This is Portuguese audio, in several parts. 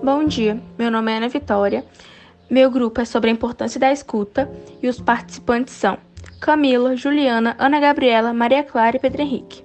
Bom dia, meu nome é Ana Vitória. Meu grupo é sobre a importância da escuta e os participantes são Camila, Juliana, Ana Gabriela, Maria Clara e Pedro Henrique.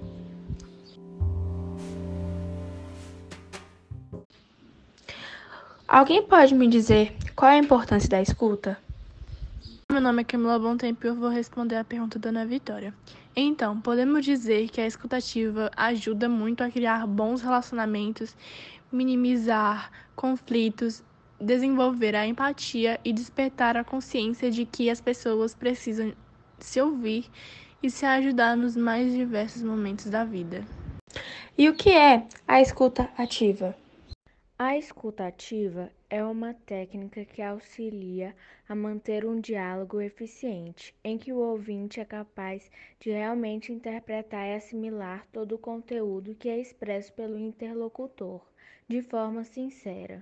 Alguém pode me dizer qual é a importância da escuta? Meu nome é Camila Bontempo e eu vou responder a pergunta da Ana Vitória. Então, podemos dizer que a escutativa ajuda muito a criar bons relacionamentos, minimizar conflitos, desenvolver a empatia e despertar a consciência de que as pessoas precisam se ouvir e se ajudar nos mais diversos momentos da vida. E o que é a escuta ativa? A escuta ativa é uma técnica que auxilia a manter um diálogo eficiente, em que o ouvinte é capaz de realmente interpretar e assimilar todo o conteúdo que é expresso pelo interlocutor, de forma sincera.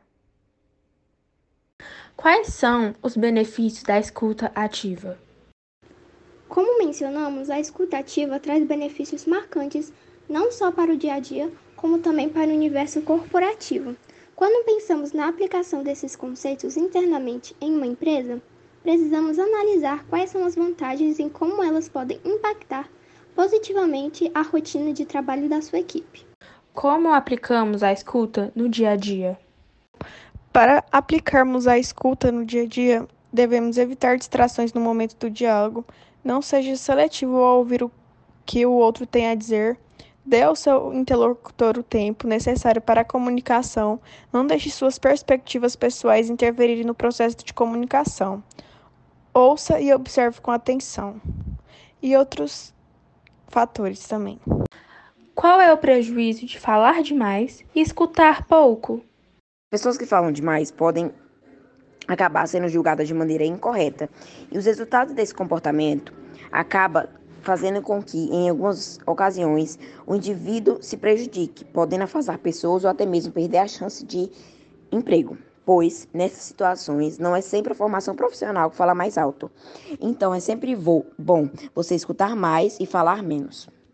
Quais são os benefícios da escuta ativa? Como mencionamos, a escuta ativa traz benefícios marcantes não só para o dia a dia, como também para o universo corporativo. Quando pensamos na aplicação desses conceitos internamente em uma empresa, precisamos analisar quais são as vantagens e como elas podem impactar positivamente a rotina de trabalho da sua equipe. Como aplicamos a escuta no dia a dia? Para aplicarmos a escuta no dia a dia, devemos evitar distrações no momento do diálogo, não seja seletivo ao ouvir o que o outro tem a dizer, dê ao seu interlocutor o tempo necessário para a comunicação, não deixe suas perspectivas pessoais interferirem no processo de comunicação. Ouça e observe com atenção. E outros fatores também. Qual é o prejuízo de falar demais e escutar pouco? Pessoas que falam demais podem acabar sendo julgadas de maneira incorreta. E os resultados desse comportamento acabam fazendo com que, em algumas ocasiões, o indivíduo se prejudique, podendo afastar pessoas ou até mesmo perder a chance de emprego. Pois, nessas situações, não é sempre a formação profissional que fala mais alto. Então, é sempre bom você escutar mais e falar menos.